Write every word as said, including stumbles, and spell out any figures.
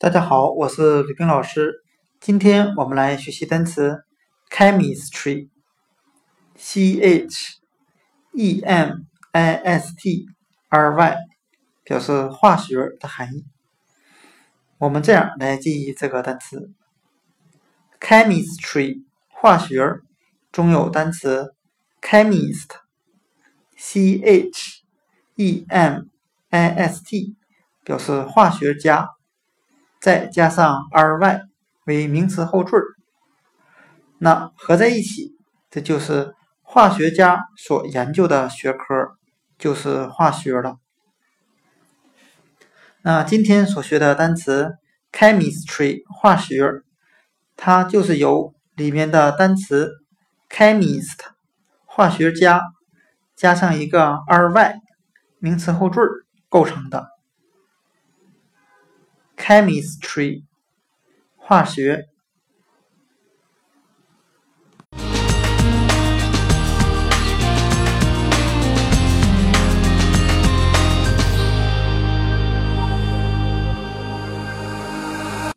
大家好，我是吕冰老师。今天我们来学习单词 chemistry，C H E M I S T R Y， 表示化学的含义。我们这样来记忆这个单词 chemistry 化学中有单词 chemist，C H E M I S T 表示化学家，再加上 R Y 为名词后缀，那合在一起，这就是化学家所研究的学科，就是化学了。那今天所学的单词 chemistry 化学，它就是由里面的单词 chemist 化学家加上一个 R Y 名词后缀构成的。chemistry 化学